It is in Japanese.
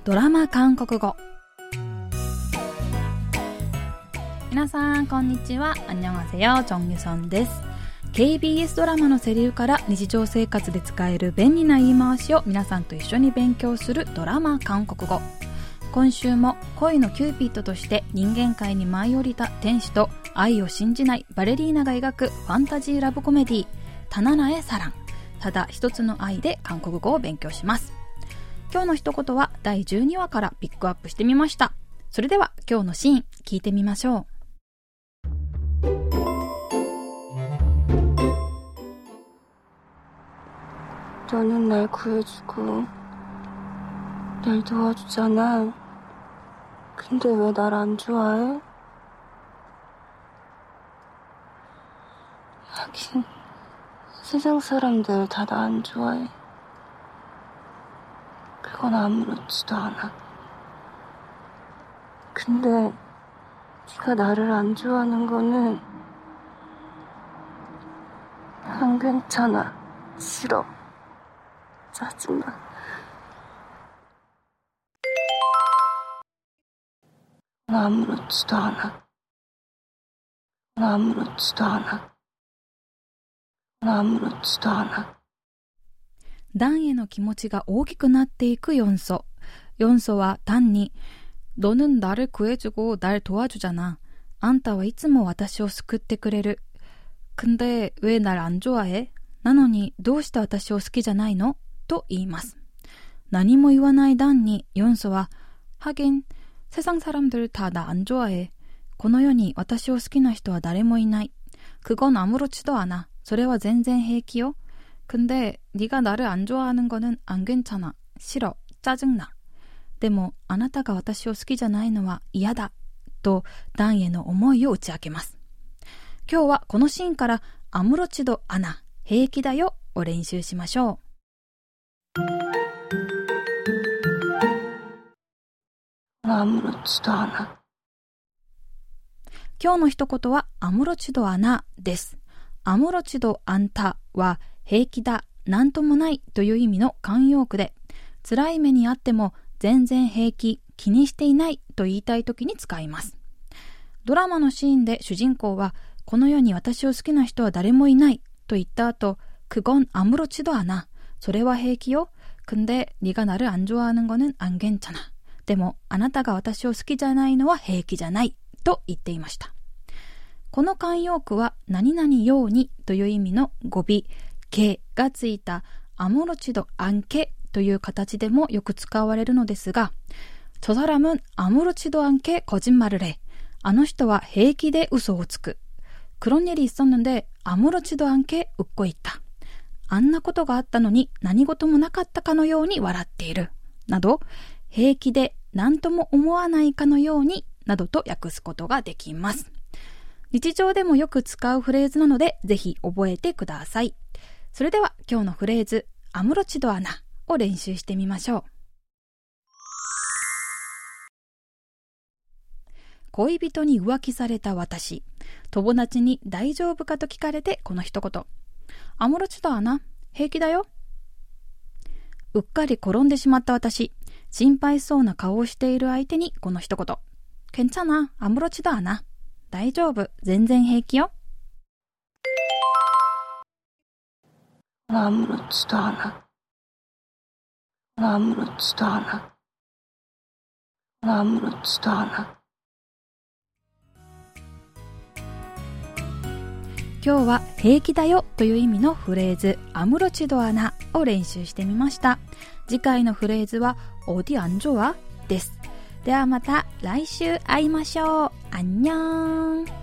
ドラマ韓国語。皆さんこんにちは。안녕하세요。チョンギュソンです。KBS ドラマのセリフから日常生活で使える便利な言い回しを皆さんと一緒に勉強するドラマ韓国語。今週も恋のキューピッドとして人間界に舞い降りた天使と愛を信じないバレリーナが描くファンタジーラブコメディ타나나의 사랑、ただ一つの愛で韓国語を勉強します。今日の一言は第12話からピックアップしてみました。それでは今日のシーン聞いてみましょう。 너는 날 구해주고 날 도와주잖아. 근데 왜 날 안 좋아해? 하긴 세상 사람들 다 나 안 좋아해. 그건 아무렇지도 않아. 근데 네가 나를 안 좋아하는 거는 안 괜찮아. 싫어. 짜증나. 아무렇지도 않아. 아무렇지도 않아. 아무렇지도 않아。 ダンへの気持ちが大きくなっていくヨンソ。ヨンソはダンに、너는 나를 구해주고 날 도와주잖아。あんたはいつも私を救ってくれる。근데 왜 날 안 좋아해？なのにどうして私を好きじゃないの？と言います。何も言わないダンにヨンソは、하긴 세상 사람들 다 나 안 좋아해。この世に私を好きな人は誰もいない。그건 아무렇지도 않아。それは全然平気よ。근데 네가 나를 안 좋아하는 거는 안 괜찮아. 싫어. 짜증나. でもあなたが私を好きじゃないのは嫌だ。とダンへの思いを打ち明けます。今日はこのシーンから아무렇지도 않아、平気だよを練習しましょう。 아무렇지도 않아。 今日の一言は아무렇지도 않아です。아무렇지도 않다は平気だ、なんともないという意味の慣用句で、辛い目にあっても全然平気、気にしていないと言いたいときに使います。ドラマのシーンで主人公は、この世に私を好きな人は誰もいないと言った後、그건 아무렇지도 않아。それは平気よ。근데 네가 나를 안 좋아하는 거는 안 괜찮아。でもあなたが私を好きじゃないのは平気じゃないと言っていました。この慣用句は何々ようにという意味の語尾、けがついた아무렇지도 않게という形でもよく使われるのですが、저 사람은 아무렇지도 않게 거짓말을 해。あの人は平気で嘘をつく。그런 일이 있었는데 아무렇지도 않게 웃고 있다。あんなことがあったのに何事もなかったかのように笑っている。など、平気で何とも思わないかのようになどと訳すことができます。日常でもよく使うフレーズなのでぜひ覚えてください。それでは今日のフレーズ아무렇지도 않아を練習してみましょう。恋人に浮気された私、友達に大丈夫かと聞かれてこの一言、아무렇지도 않아、平気だよ。うっかり転んでしまった私、心配そうな顔をしている相手にこの一言、괜찮아、아무렇지도 않아、大丈夫、全然平気よ。 아무렇지도 않아。아무렇지도 않아。아무렇지도 않아。 今日は平気だよという意味のフレーズ아무렇지도 않아を練習してみました。次回のフレーズは어디 안 좋아です。ではまた来週会いましょう。안녕。